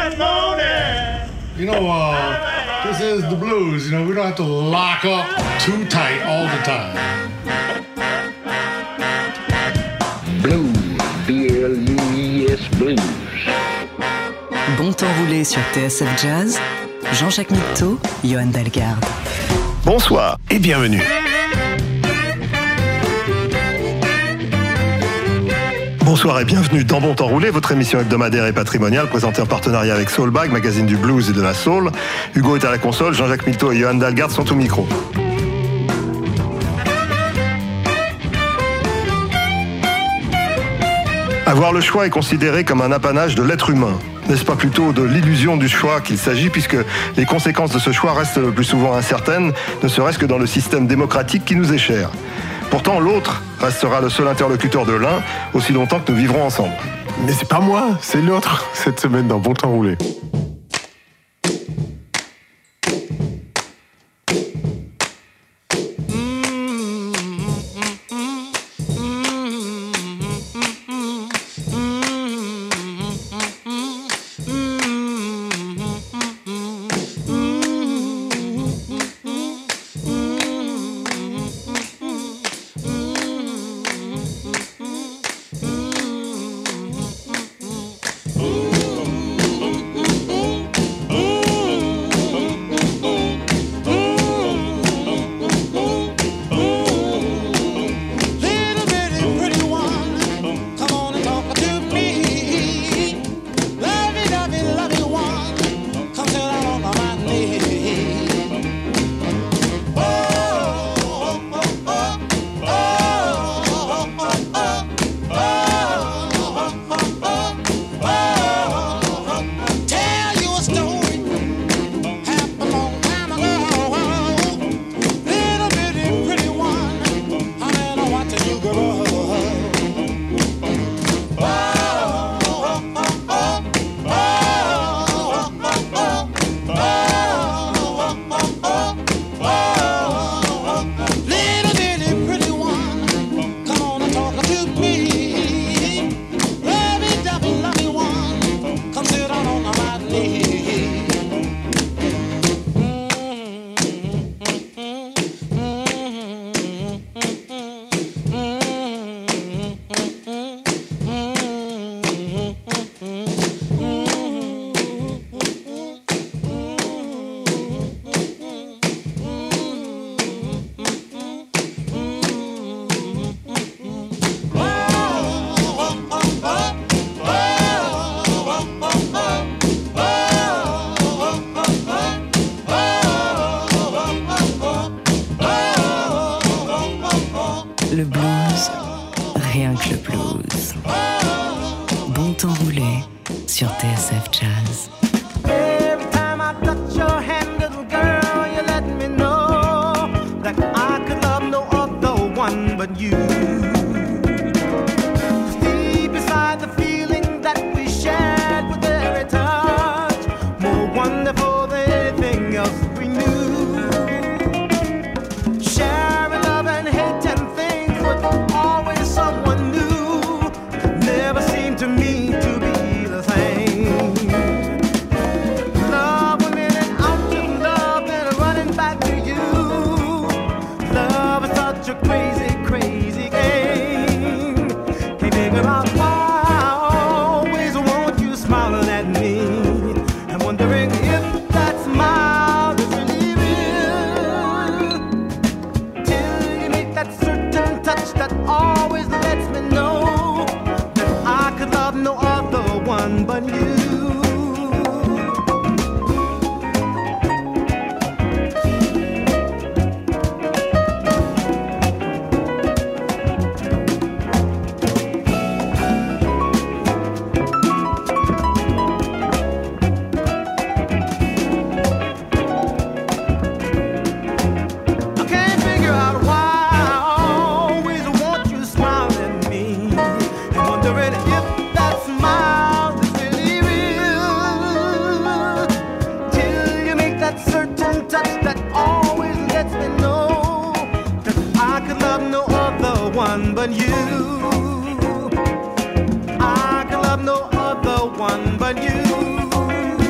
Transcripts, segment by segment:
This is the blues. We don't have to lock up too tight all the time. Blues, B-L-U-E-S, blues. Bon temps roulé sur TSF Jazz, Jean-Jacques Mitteau, Johan Dalgarde. Bonsoir et bienvenue. Bonsoir et bienvenue dans Bon Temps Roulé, votre émission hebdomadaire et patrimoniale présentée en partenariat avec Soulbag, magazine du blues et de la soul. Hugo est à la console, Jean-Jacques Mitteau et Johan Dalgarde sont au micro. Avoir le choix est considéré comme un apanage de l'être humain. N'est-ce pas plutôt de l'illusion du choix qu'il s'agit, puisque les conséquences de ce choix restent le plus souvent incertaines, ne serait-ce que dans le système démocratique qui nous est cher. Pourtant, l'autre restera le seul interlocuteur de l'un, aussi longtemps que nous vivrons ensemble. Mais c'est pas moi, c'est l'autre, cette semaine dans Bon Temps Roulé. Le blues, rien que le blues. Bon temps roulé sur TSF Jazz. Every time I touch your hand, little girl, you let me know that I could love no other one but you. Deep beside the feeling that we shared with every touch, more wonderful than anything else we knew. Sharing love and hate and things, but always someone new. Never seemed to me to be the same. Love went in and out of love and running back to you. Love is such a crazy, crazy game. Can't figure out why I always want you smiling at me. I'm wondering if that smile is really real. Till you make that certain touch that always lets me know that I could love no other one but you. I can't figure out why I always want you smiling at me. I'm wondering if that smile is really real. Till you make that certain touch that always lets me know that I could love no other one but you. I could love no other one but you.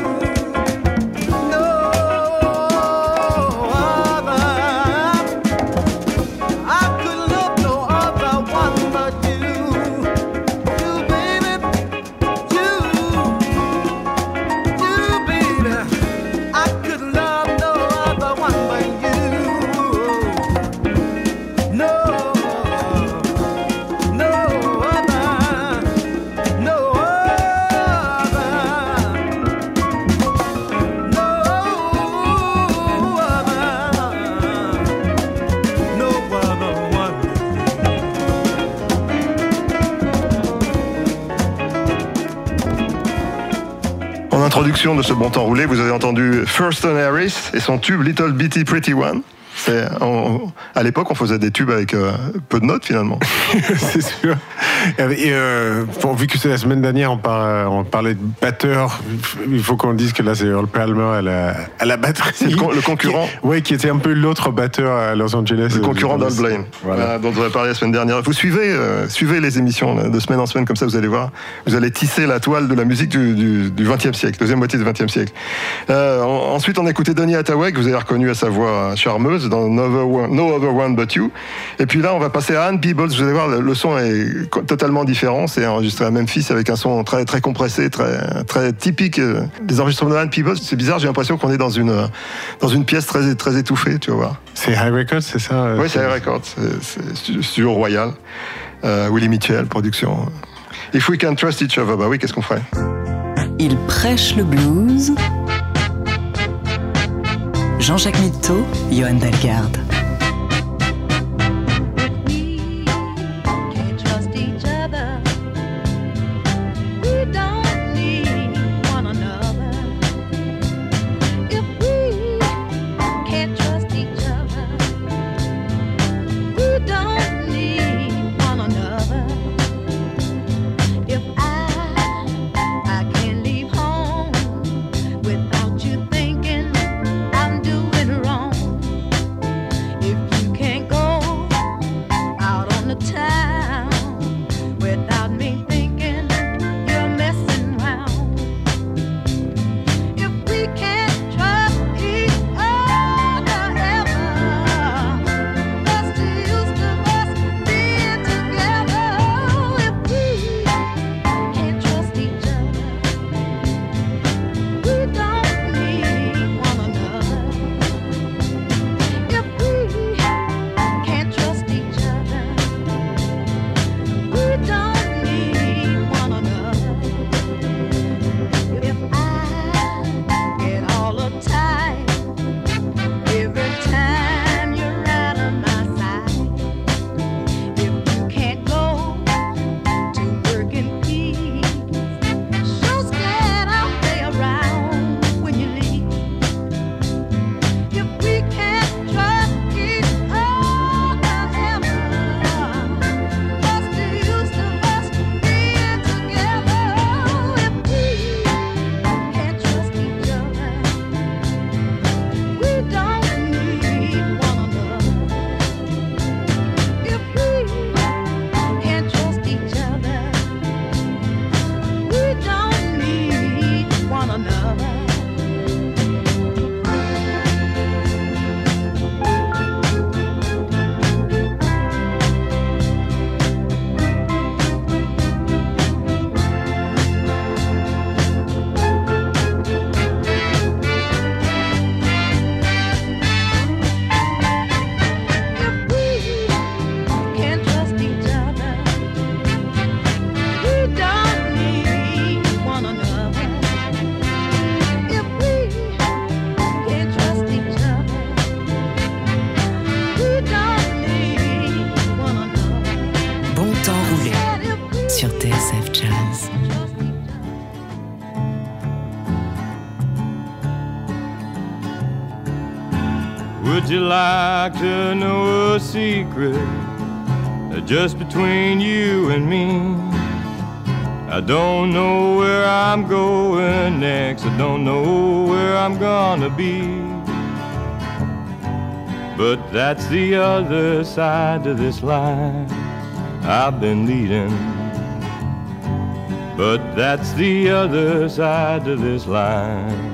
En introduction de ce bon temps roulé, vous avez entendu Thurston Harris et son tube Little Bitty Pretty One. À l'époque, on faisait des tubes avec peu de notes finalement. C'est sûr. Et vu que c'est la semaine dernière, on parlait de batteur, il faut qu'on dise que là c'est Earl Palmer à la batterie. C'est le concurrent. Qui était un peu l'autre batteur à Los Angeles. Le concurrent d'Al Blaine, dont on a parlé la semaine dernière. Vous suivez les émissions de semaine en semaine, comme ça vous allez voir. Vous allez tisser la toile de la musique du XXe siècle, deuxième moitié du XXe siècle. Ensuite, on a écouté Donny Hathaway, que vous avez reconnu à sa voix charmeuse dans No Other One But You. Et puis là, on va passer à Ann Peebles. Vous allez voir, le son est totalement différent. C'est enregistré à Memphis avec un son très, très compressé, très, très typique des enregistrements de Ann Peebles. C'est bizarre, j'ai l'impression qu'on est dans une pièce très, très étouffée, tu vas voir. C'est High Records, c'est ça? Oui, c'est High Records. C'est Studio Royal. Willie Mitchell, production. If We Can Trust Each Other, bah oui, qu'est-ce qu'on ferait? Il prêche le blues. Jean-Jacques Mitteau, Johan Dalgarde. Would you like to know a secret just between you and me? I don't know where I'm going next. I don't know where I'm gonna be. But that's the other side of this line I've been leading. But that's the other side of this line.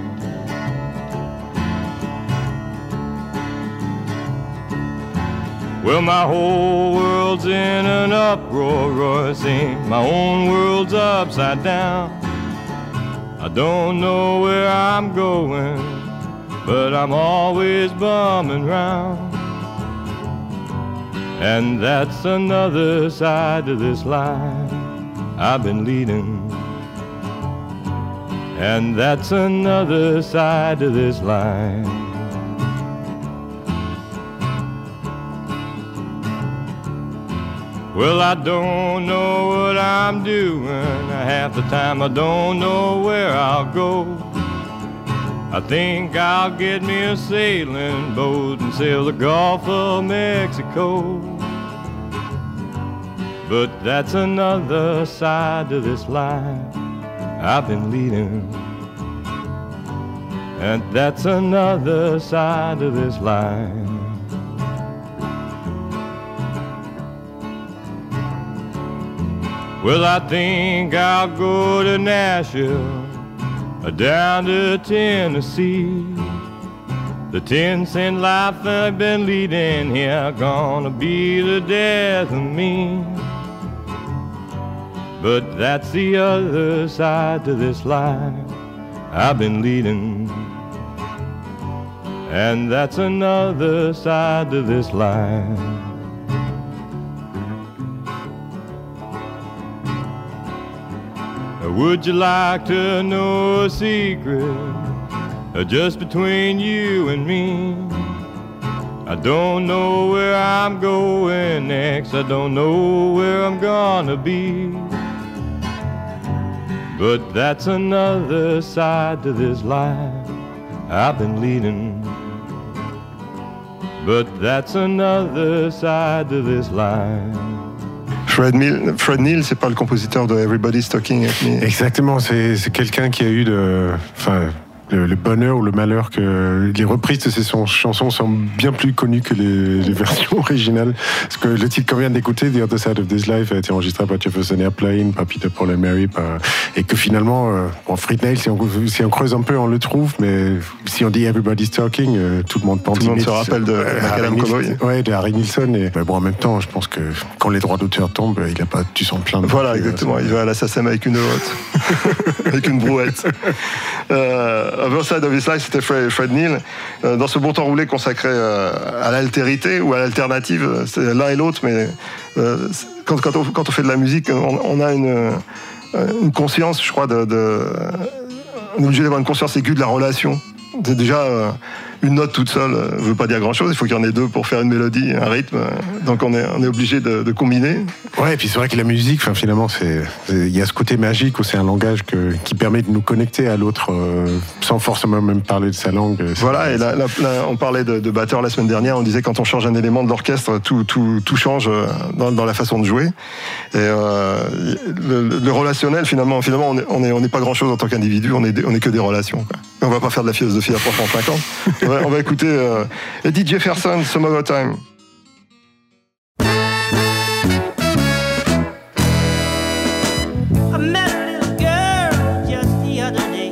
Well, my whole world's in an uproar, roar, sing. My own world's upside down. I don't know where I'm going, but I'm always bumming round. And that's another side of this line I've been leading. And that's another side of this line. Well, I don't know what I'm doing. Half the time I don't know where I'll go. I think I'll get me a sailing boat and sail the Gulf of Mexico. But that's another side to this life I've been leading. And that's another side to this life. Well, I think I'll go to Nashville, down to Tennessee. The 10-cent life I've been leading here gonna be the death of me. But that's the other side to this life I've been leading. And that's another side to this life. Would you like to know a secret just between you and me? I don't know where I'm going next. I don't know where I'm gonna be. But that's another side to this life I've been leading. But that's another side to this life. Fred Neil, c'est pas le compositeur de Everybody's Talking At Me. Exactement, c'est quelqu'un qui a eu le bonheur ou le malheur que les reprises de ses chansons sont bien plus connues que les versions originales. Parce que le titre qu'on vient d'écouter, The Other Side of This Life, a été enregistré par Jefferson Airplane, par Peter, Paul and Mary, et que finalement, Fred Neil, si on creuse un peu, on le trouve, mais si on dit Everybody's Talking, tout le monde pense. Tout le monde se rappelle de Macadam Cowboy. Ouais, de Harry Nilsson. Et en même temps, je pense que quand les droits d'auteur tombent, il n'a pas dû s'en plaindre. Voilà, exactement. Il va à la SACEM avec une hotte, avec une brouette. Other Side of His Life, c'était Fred Neil. Dans ce bon temps roulé consacré à l'altérité ou à l'alternative, c'est l'un et l'autre, mais quand on fait de la musique, on a une conscience, je crois, on est obligé d'avoir une conscience aiguë de la relation. C'est déjà une note toute seule ne veut pas dire grand-chose. Il faut qu'il y en ait deux pour faire une mélodie, un rythme. Donc on est obligé de combiner. Ouais, et puis c'est vrai que la musique, finalement, il y a ce côté magique où c'est un langage qui permet de nous connecter à l'autre sans forcément même parler de sa langue. Voilà, et là, on parlait de batteur la semaine dernière. On disait quand on change un élément de l'orchestre, tout change dans la façon de jouer. Et le relationnel, finalement, on n'est pas grand-chose en tant qu'individu. On est que des relations, quoi. On va pas faire de la philosophie à 350. On va écouter Eddie Jefferson, Some Other Time. I met a little girl just the other day,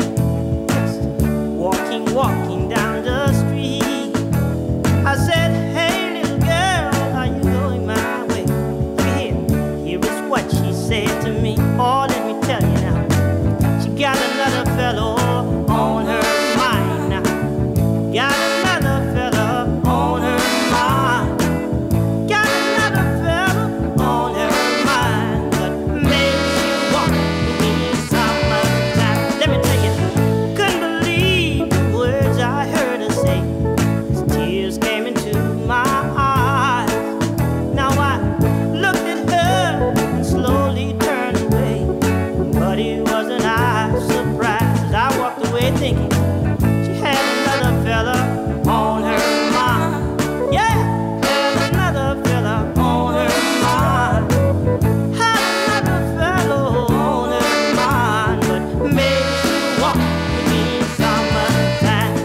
walking down the street. I said, hey little girl, are you going my way? Here is what she said to me. Oh, let me tell you now, she got another fellow on her mind now. Got another fella on her mind. Got another fella on her mind. But maybe she'll walk with me summertime. Let me tell you, couldn't believe the words I heard her say. As tears came into my eyes. Now I looked at her and slowly turned away. But it wasn't I surprised. I walked away thinking she had another fella on her mind. Yeah, had another fella on her mind. Had another fella on her mind. But maybe she'll walk with me summertime.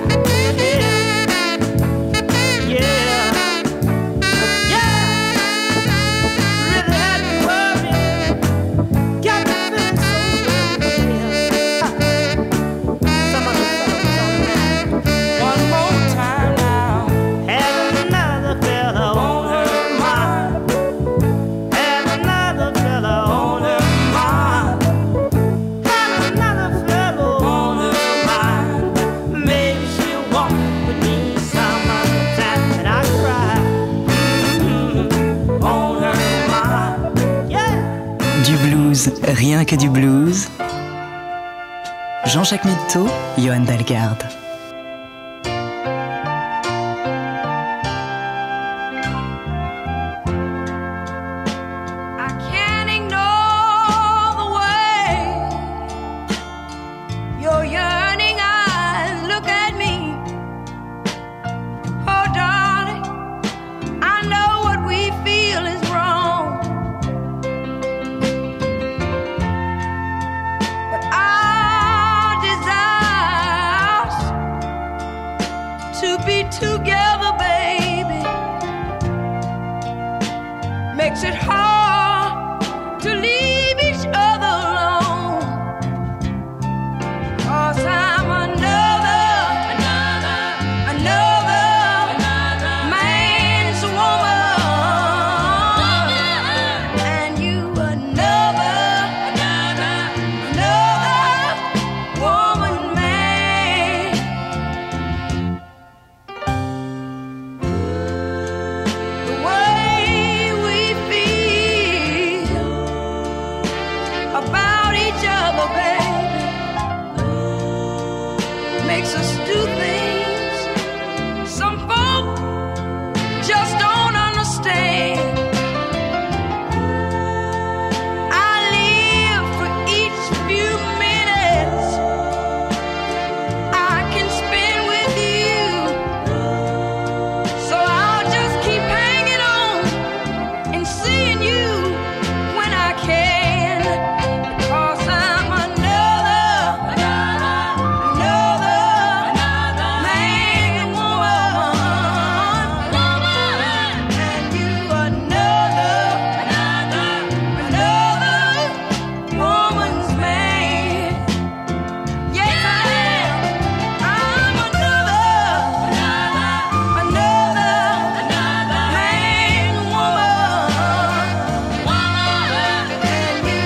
Yeah, really had me worried. Got me feeling so some other fella was on her mind. One more time now. Had another fella on her mind. Had another fella on her mind. Had another fella on her mind. Maybe she'll walk with me summertime. And I cry on her mind. Yeah. Du blues, rien que du blues. Jean-Jacques Mitteau, Johan Dalgarde. makes us do things some folk just don't understand. I live for each few minutes I can spend with you, so I'll just keep hanging on and seeing you when I can, because I'm another man and woman, and you another woman's man. Yes, I am. I'm another man and woman, and you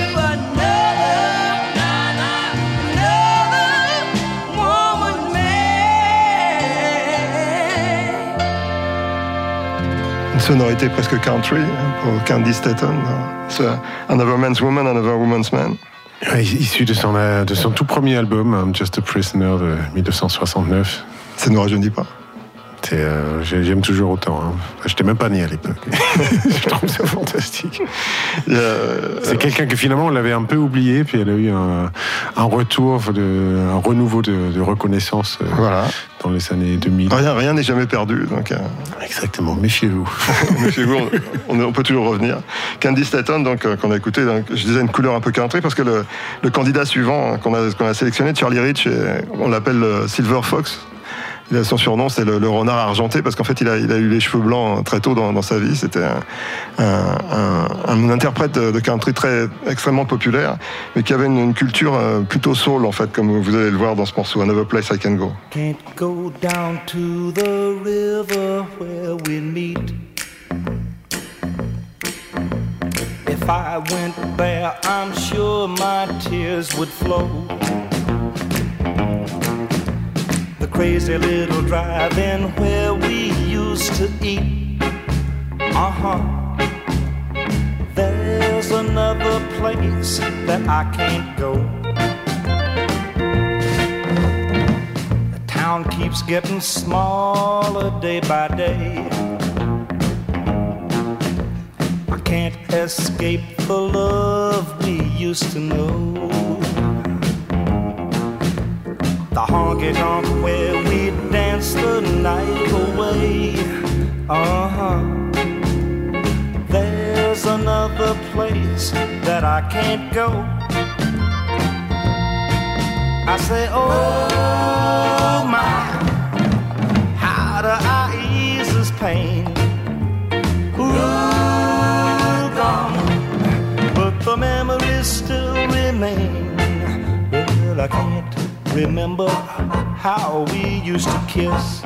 another woman's man. Une sonorité presque country pour Candy Staton. C'est Another Man's Woman, Another Woman's Man. Ouais, issu de son tout premier album, Just a Prisoner de 1969. Ça ne nous rajeunit pas. J'aime toujours autant. Hein. Je n'étais même pas né à l'époque. Je trouve ça fantastique. C'est quelqu'un que finalement on l'avait un peu oublié, puis elle a eu un retour, un renouveau de reconnaissance Voilà. dans les années 2000. Rien n'est jamais perdu. Donc, Exactement, méfiez-vous. méfiez-vous, on peut toujours revenir. Candy Staton, donc, qu'on a écouté, donc, je disais une couleur un peu country, parce que le candidat suivant qu'on a sélectionné, Charlie Rich, on l'appelle Silver Fox. Son surnom, c'est le renard argenté, parce qu'en fait, il a eu les cheveux blancs très tôt dans sa vie. C'était un interprète de country extrêmement populaire, mais qui avait une culture plutôt soul, en fait, comme vous allez le voir dans ce morceau, Another Place I Can Go. Can't go down to the river where we meet. If I went there, I'm sure my tears would flow. The crazy little drive-in where we used to eat. There's another place that I can't go. The town keeps getting smaller day by day. I can't escape the love we used to know. The honky-tonk where we dance the night away. There's another place that I can't go. I say, oh my, how do I ease this pain? Ooh, gone, but the memories still remain. Well, I can't remember how we used to kiss.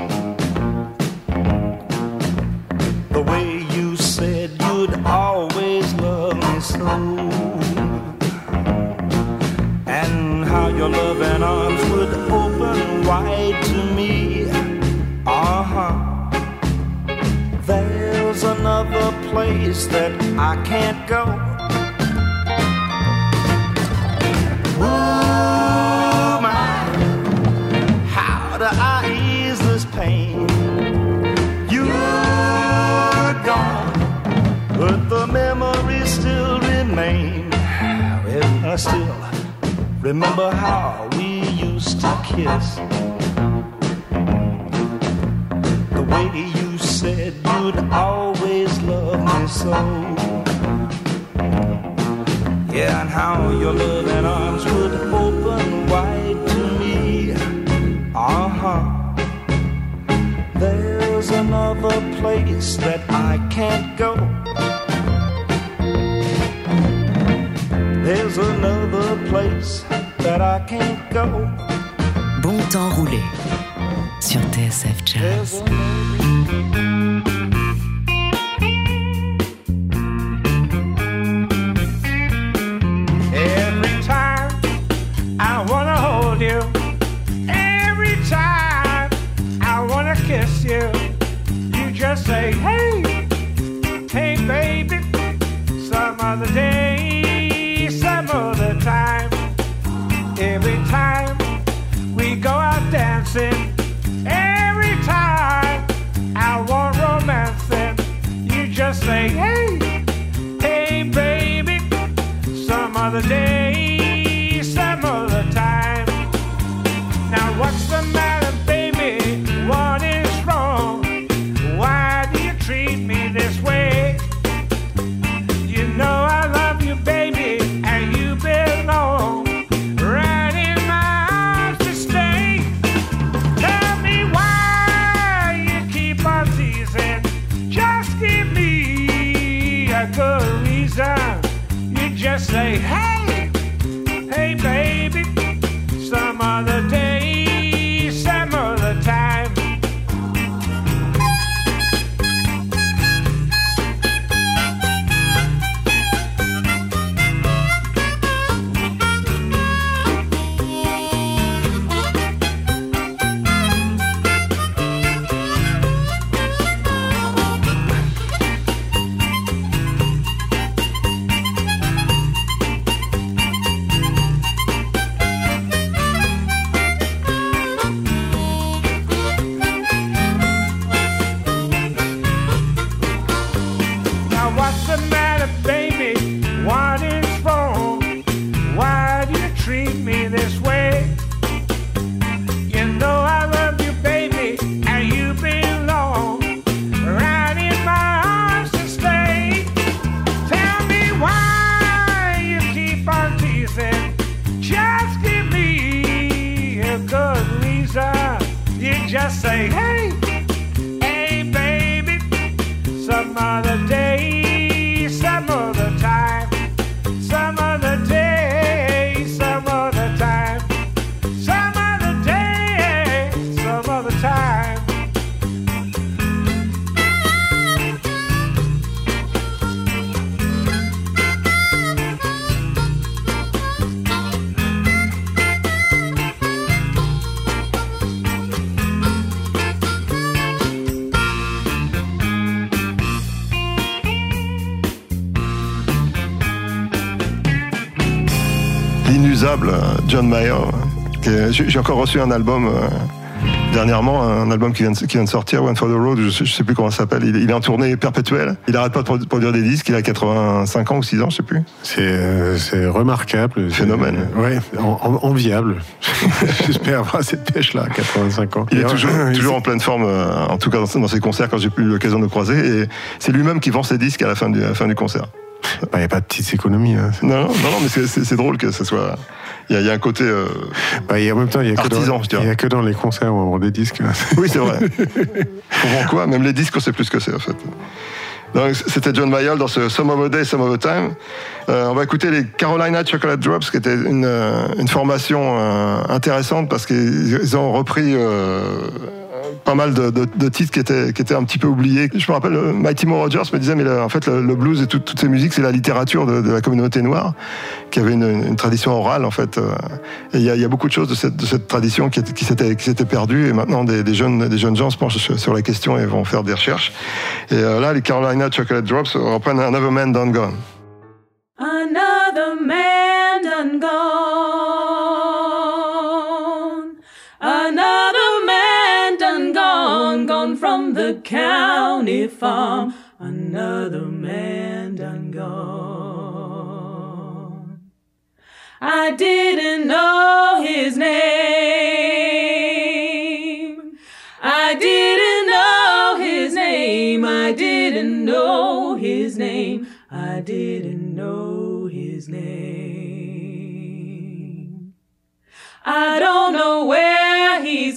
The way you said you'd always love me so. And how your loving arms would open wide to me. There's another place that I can't go. Ooh, my, how do I ease this pain? You're gone, but the memories still remain. Well, I still remember how we used to kiss. The way you said you'd always love me so. Yeah, and how your loving arms would open wide to me. There's another place that I can't go. There's another place that I can't go. Bon temps roulé sur TSF Jazz. Every time I wanna hold you, every time I wanna kiss you, you just say, hey, hey baby, some other day, some other time. Every time we go out dancing, just say, hey, hey, baby, some other day, some other time, some other day, some other time, some other day, some other time. L'inusable John Mayer. J'ai encore reçu un album dernièrement, un album qui vient de sortir, One for the Road, je sais plus comment ça s'appelle. Il est en tournée perpétuelle. Il arrête pas de produire des disques. Il a 85 ans ou 6 ans, je sais plus. C'est remarquable. Phénomène. Ouais, enviable. J'espère avoir cette pêche-là à 85 ans. Il est toujours en pleine forme, en tout cas dans ses concerts, quand j'ai eu l'occasion de le croiser. Et c'est lui-même qui vend ses disques à la fin du concert. Il n'y a pas de petites économies. Hein. Non, mais c'est drôle que ce soit... Il y a un côté et en même temps, il n'y a que dans les concerts où on vend des disques. Oui, c'est vrai. On vend quoi? Même les disques, on sait plus ce que c'est, en fait. Donc, c'était John Mayall dans ce Some of a Day, Some of a Time. On va écouter les Carolina Chocolate Drops, qui était une formation intéressante parce qu'ils ont repris pas mal de titres qui étaient un petit peu oubliés. Je me rappelle, Mighty Mo Rogers me disait, mais en fait, le blues et toutes ces musiques, c'est la littérature de la communauté noire, qui avait une tradition orale, en fait. Et il y a beaucoup de choses de cette tradition qui s'était perdue, et maintenant, des jeunes gens se penchent sur la question et vont faire des recherches. Et là, les Carolina Chocolate Drops reprennent Another Man Done Gone. Another man done gone. Another man done gone. Gone from the county farm. Another man done gone. I didn't know his name. I didn't know his name. I didn't know his name. I didn't know his name. I don't know where he's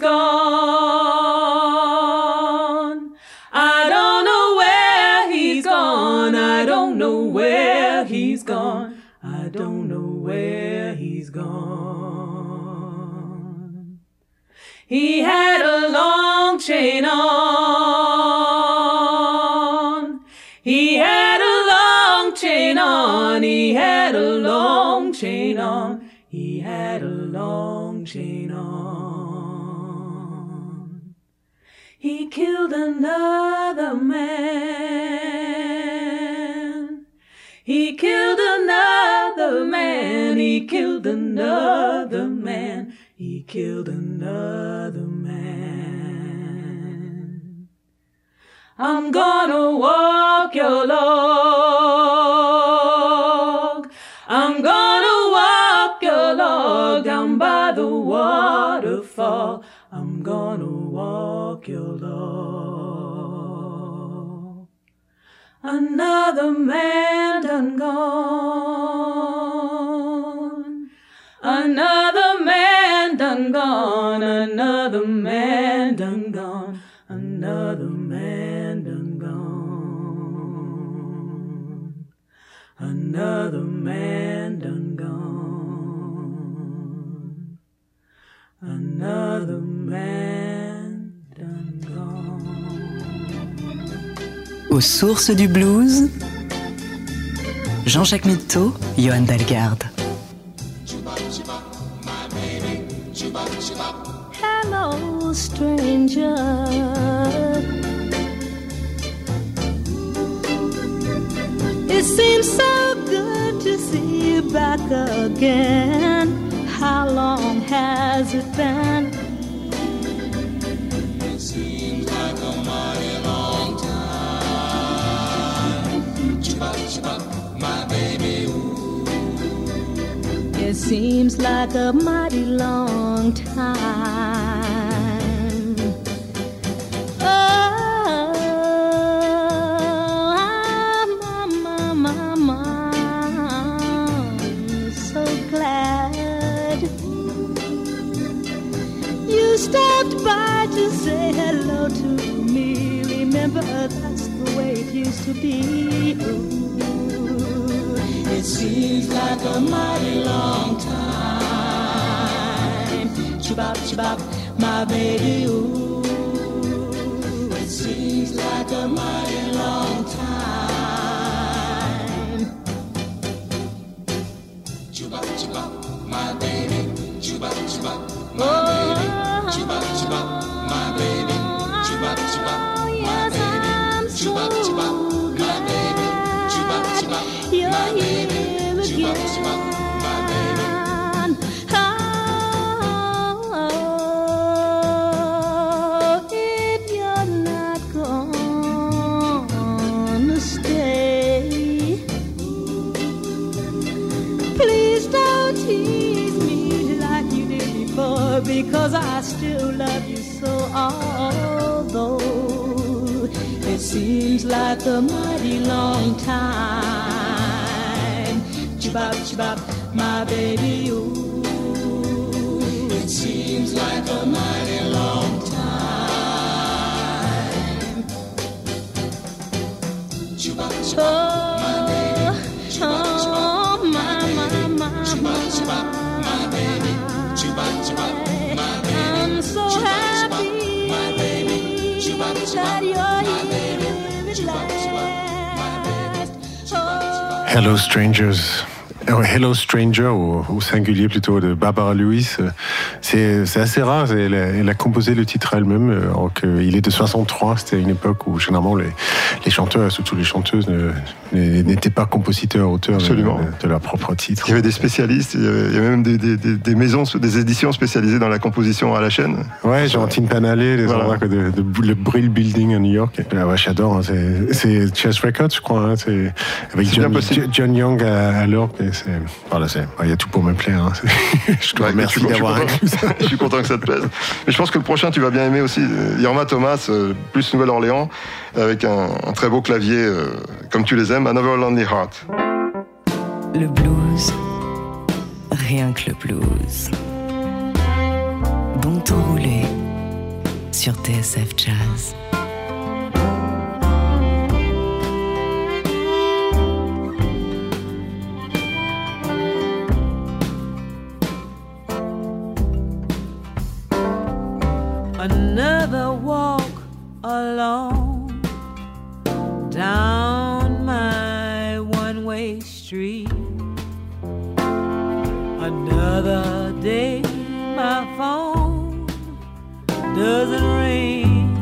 gone. I don't know where he's gone. I don't know where he's gone. I don't know where he's gone. He had a long chain on. He had a long chain on. He had a long chain on. He had a long chain on. He killed another man. He killed another man. He killed another man. He killed another man. I'm gonna walk your log. I'm gonna walk your log down by the waterfall. I'm gonna walk your log. Another man done gone. Another man done gone. Another man done gone. Another man done gone. Another man done gone. Another man done gone. Aux sources du blues, Jean-Jacques Mitteau, Johan Dalgarde. Hello, stranger. It seems so good to see you back again. How long has it been? It seems like a mighty long time. Chupa, my baby, ooh. It seems like a mighty long time. You you stopped by to say hello to me. Remember, that's the way it used to be. Ooh, it seems like a mighty long time. Chibop, chibop, my baby, ooh. It seems like a mighty long time. Chibop, chibop, my baby. Chibop, chibop, my baby. Chibop, chibop, my baby. Chibop, chibop, my baby. Chibop, chibop, my baby. Chibop, chibop, my baby. Chibop, chibop, my baby. Oh, if you're not gonna stay, please don't tease me like you did before, because I still love you so. Although it seems like a mighty long time. Chibop, chibop, my baby, ooh. It seems like a mighty long time. Chibop, chibop, my baby. Chibop, chibop, my baby. Chibop, chibop, my baby. Chibop, chibop, my baby. I'm so happy my baby. Chibop, that chibop, you're my here baby. at Chibop, chibop, my baby. last. Hello Strangers. Hello Stranger, au singulier plutôt, de Barbara Lewis. C'est assez rare, elle a composé le titre elle-même, alors qu'il est de 63, c'était une époque où généralement les chanteurs, surtout les chanteuses, n'étaient pas compositeurs, auteurs de leur propre titre. Il y avait des spécialistes, il y avait même des maisons, des éditions spécialisées dans la composition à la chaîne. Ouais, genre Timpanalé, les endroits le Brill Building à New York. Ouais, j'adore, hein, c'est Chess Records, je crois, hein, c'est avec John Young à l'orgue. Voilà, il y a tout pour me plaire. Hein. Je te remercie d'avoir inclus ça. Je suis content que ça te plaise. Mais je pense que le prochain, tu vas bien aimer aussi. Yorma Thomas, plus Nouvelle-Orléans, avec un très beau clavier, comme tu les aimes, Another Lonely Heart. Le blues, rien que le blues. Bon temps roulé sur TSF Jazz. Another walk alone down my one-way street. Another day my phone doesn't ring.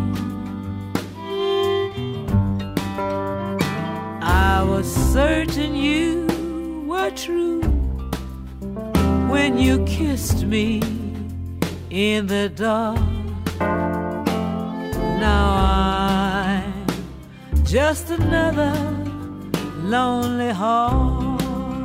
I was certain you were true when you kissed me in the dark. Now I'm just another lonely heart.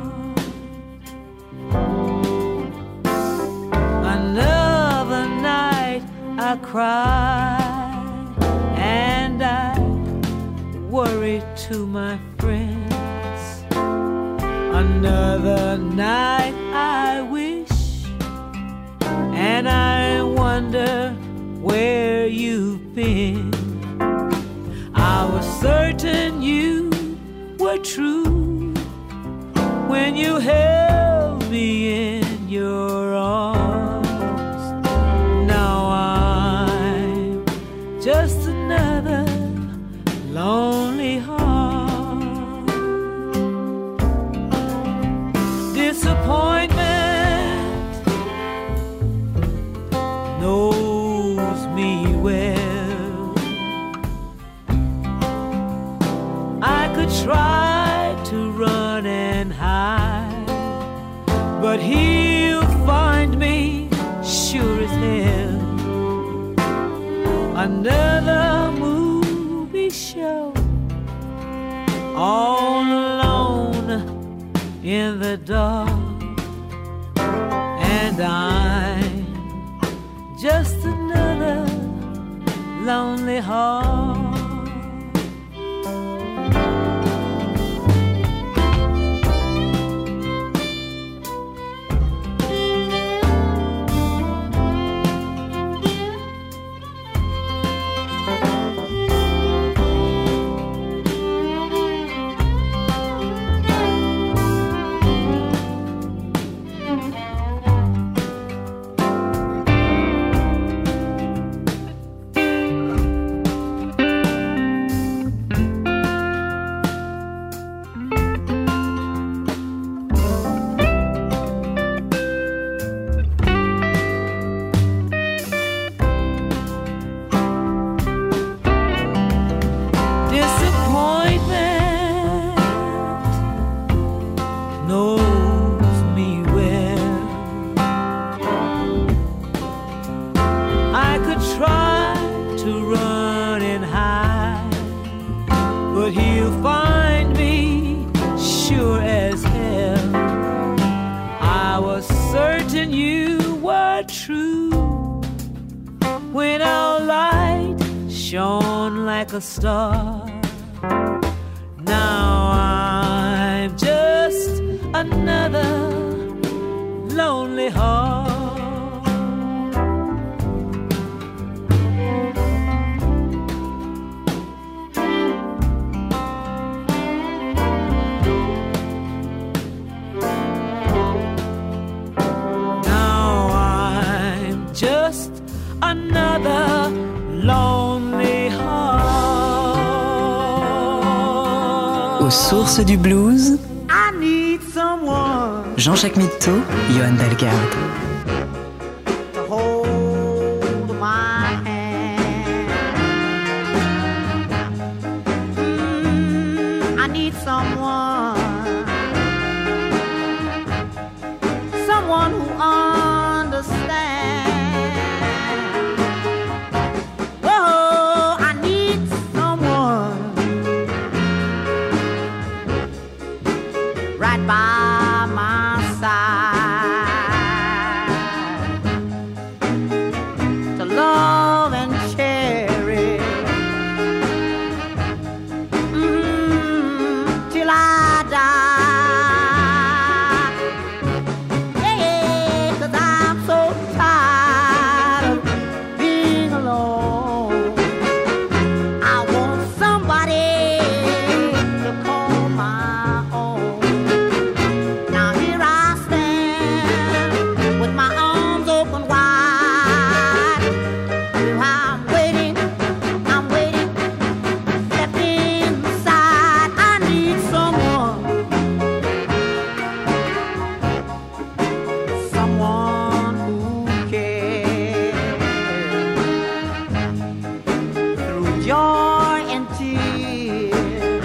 Another night I cry and I worry to my friends. Another night I wish and I wonder where you've been. I was certain you were true when you held me in your arms. Now I'm just another lonely heart. Disappointment knows me well. I could try to run and hide, but he'll find me sure as hell. Another movie show, all alone in the dark, and I'm just another lonely heart. when our light shone like a star. Now I'm just another lonely heart. Now I'm just another lonely heart. Aux sources du blues, I need someone Jean-Jacques Mitteau, Johan Dalgarde. to hold my hand. I need someone who understands. Oh, I need someone right by my side to love and cherish till I die. Yeah, 'cause I'm so tired of being alone. I want somebody to call my own. Now here I stand with my arms open wide. I'm waiting, step inside. I need someone who cares through joy and tears.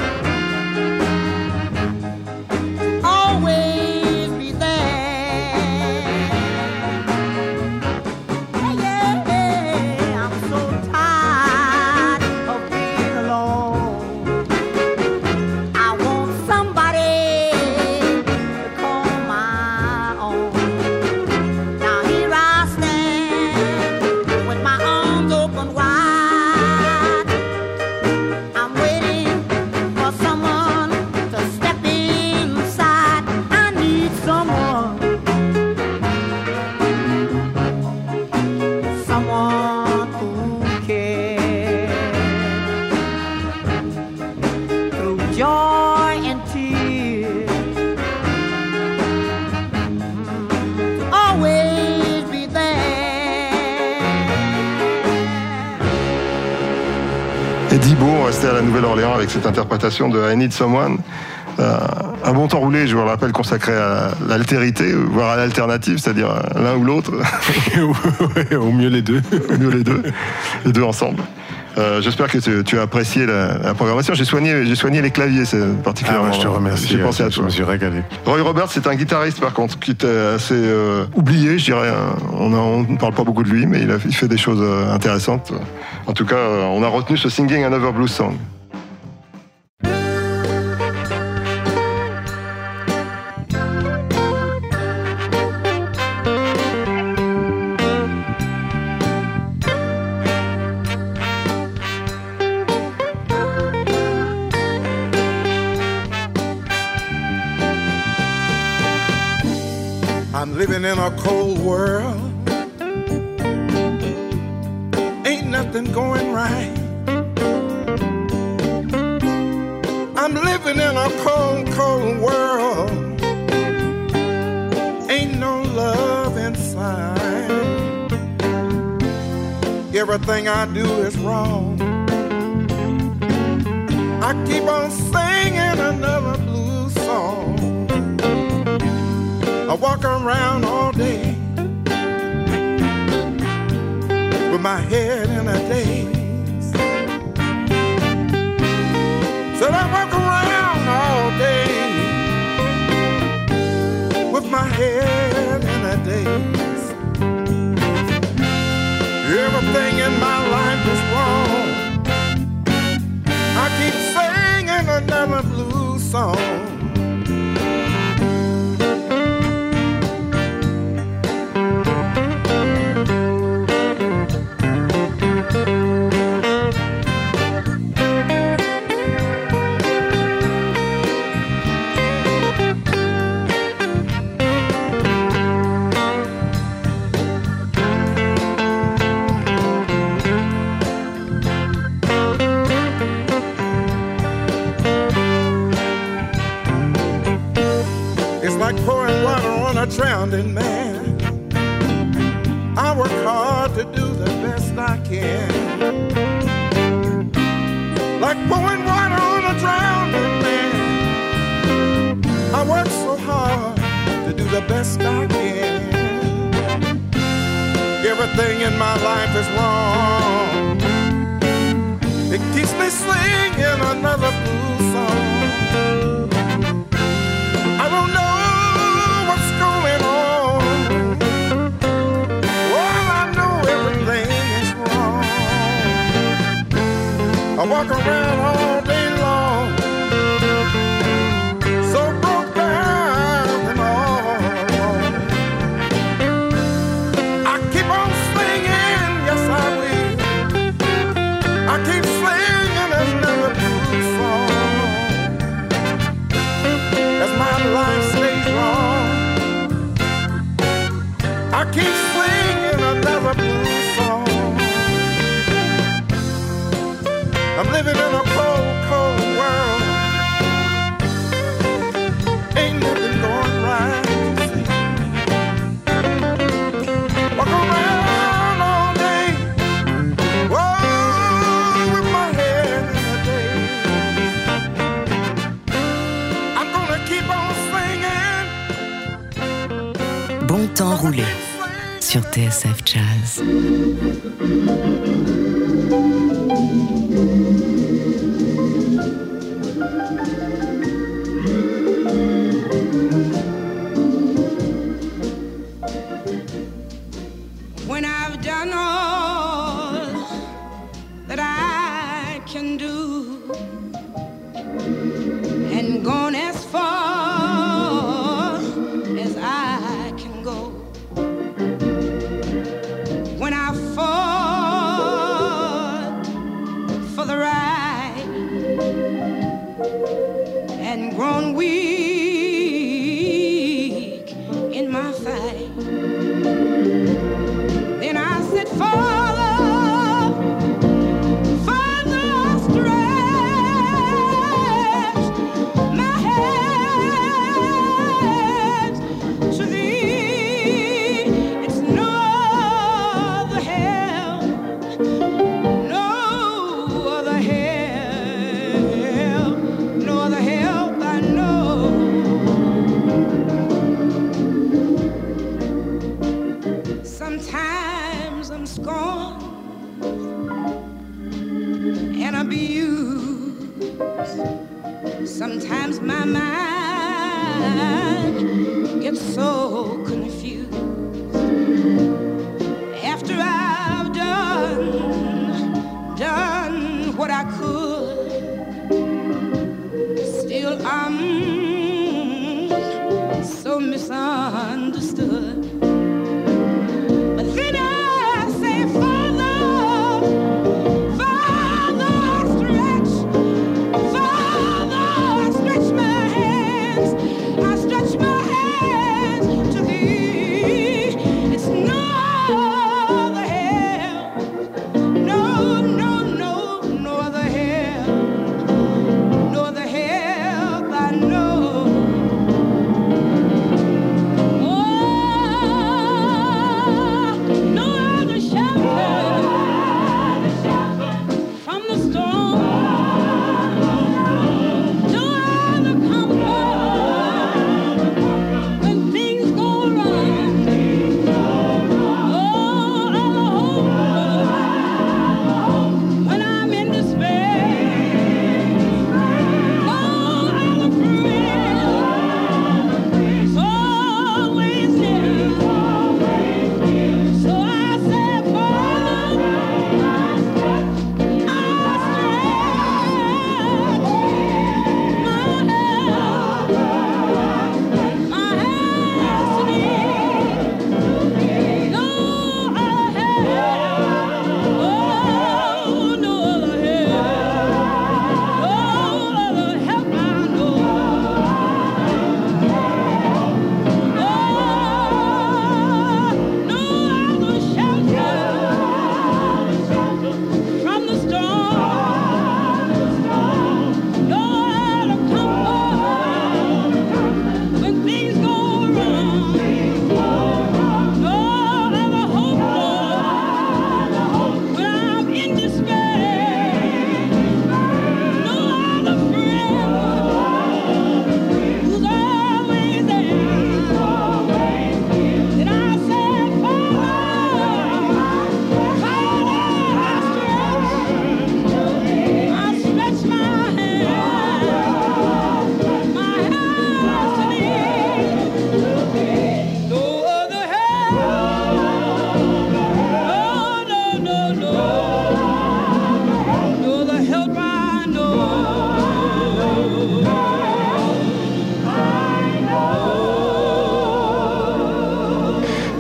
Always be there. Yeah, I'm so tired of being alone. I want somebody to call my own. Now here I stand with my arms open wide. I'm waiting for someone to step inside. I need someone who cares through joy and tears. Always be there. Eddie Beau, on restait à la Nouvelle-Orléans avec cette interprétation de I Need Someone. Un bon temps roulé, je vous le rappelle, consacré à l'altérité, voire à l'alternative, c'est-à-dire l'un ou l'autre. Au mieux les deux. Au mieux les deux ensemble. J'espère que tu as apprécié la programmation. J'ai soigné les claviers, c'est particulièrement. Je te remercie. J'ai pensé à toi. Je me suis régalé. Roy Roberts, c'est un guitariste par contre qui était assez oublié, je dirais. On ne parle pas beaucoup de lui, mais il fait des choses intéressantes. En tout cas, on a retenu ce Singing Another Blues Song. I'm living in a cold world. Ain't nothing going right. I'm living in a cold, cold world. Ain't no love inside. Everything I do is wrong. I keep on singing another blues song. I walk around all day with my head in a daze. Said I walk around all day with my head in a daze. Everything in my life is wrong. I keep singing another blues song. can. Like pouring water on a drowning man. I work so hard to do the best I can. Everything in my life is wrong. It keeps me singing another blues song. I don't know what's going on. All I know, everything is wrong. I walk around all day long, so broke down and all alone. I keep on singing, yes I will. I keep singing another blues song as my life stays wrong. I keep singing another blues song. I'm living in a cold, cold world. Ain't nothing going right, you see. Walk around all day, whoa, with my head in the daze. I'm gonna keep on singing. Bon temps roulé sur TSF Jazz. When I've done all that I can do and gone as far as I can go, when I fought for the right and grown weak in my fight, then I said, Father, Father, stretch my hands to thee. It's no other help, no other help, no other help I know. Sometimes I'm scorned and abused. Sometimes my mind gets so confused. After I've done what I could, still I'm so misunderstood. Then I say, Father, Father, stretch my hands. I stretch my hands to thee. It's no other help, no other help.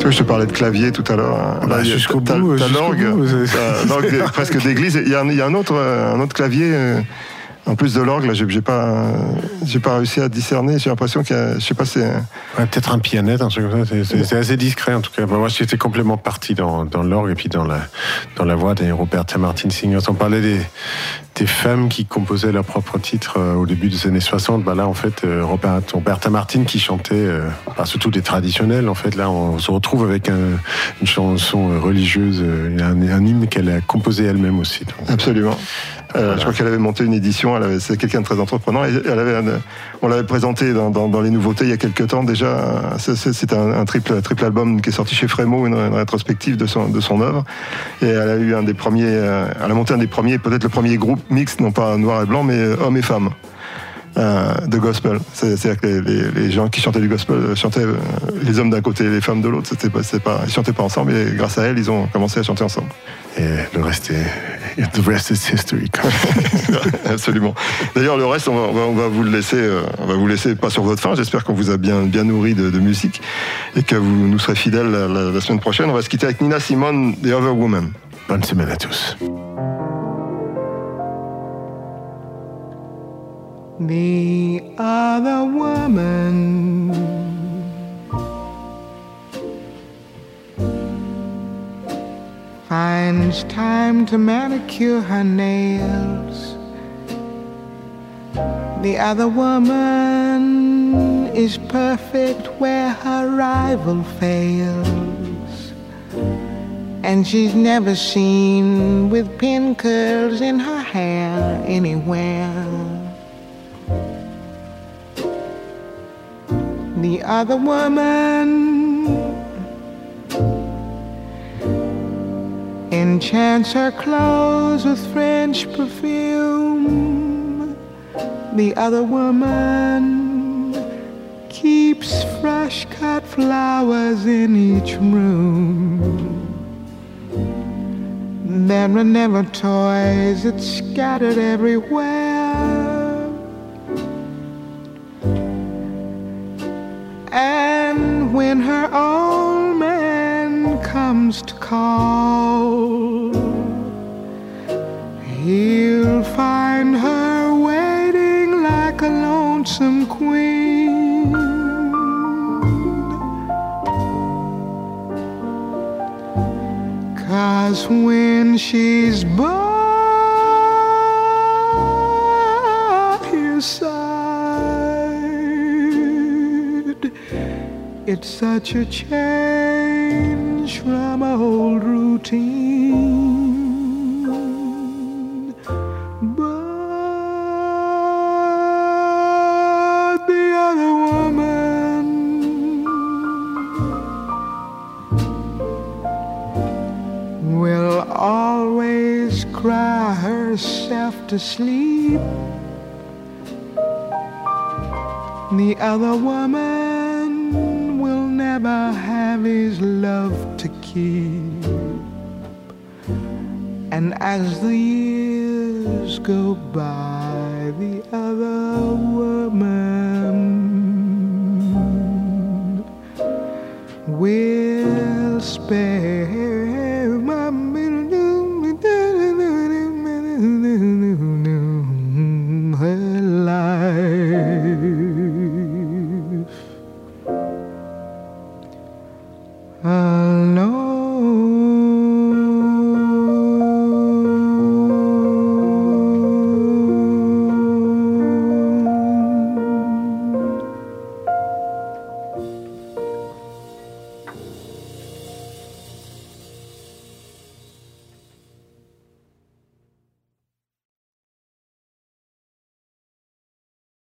Tu vois, je te parlais de clavier tout à l'heure. Hein. Bah, jusqu'au bout. T'as l'orgue, l'orgue presque d'église. Il y a un autre clavier. En plus de l'orgue, là, j'ai pas réussi à discerner. J'ai l'impression qu'il y a, je sais pas, c'est ouais, peut-être un pianette, un truc comme ça. C'est assez discret en tout cas. Moi, j'étais complètement parti dans l'orgue et puis dans la voix des Roberta Martin Singers. On parlait des femmes qui composaient leurs propres titres au début des années 60. Bah là, en fait, Roberta Martin qui chantait, surtout des traditionnels. En fait, là, on se retrouve avec une chanson religieuse, un hymne qu'elle a composé elle-même aussi. Donc, absolument. Voilà. Je crois qu'elle avait monté une édition, c'est quelqu'un de très entreprenant, et on l'avait présenté dans les nouveautés il y a quelques temps déjà. C'est un triple album qui est sorti chez Frémo, une rétrospective de son œuvre. Et elle a eu elle a monté un des premiers, peut-être le premier groupe mixte, non pas noir et blanc, mais hommes et femmes. De gospel. C'est-à-dire que les gens qui chantaient du gospel chantaient les hommes d'un côté et les femmes de l'autre. Ils chantaient pas ensemble, et grâce à elle, ils ont commencé à chanter ensemble. Et the rest is history. Absolument. D'ailleurs, le reste, on va vous le laisser pas sur votre faim. J'espère qu'on vous a bien nourri de musique et que vous nous serez fidèles la semaine prochaine. On va se quitter avec Nina Simone, The Other Woman. Bonne semaine à tous. The other woman finds time to manicure her nails. The other woman is perfect where her rival fails. And she's never seen with pin curls in her hair anywhere. The other woman enchants her clothes with French perfume. The other woman keeps fresh cut flowers in each room. There are never toys, it's scattered everywhere. And when her old man comes to call, he'll find her waiting like a lonesome queen. 'Cause when she's by his side, it's such a change from old routine. But the other woman will always cry herself to sleep. The other woman will never have his love to keep. And as the years go by, the other woman will spare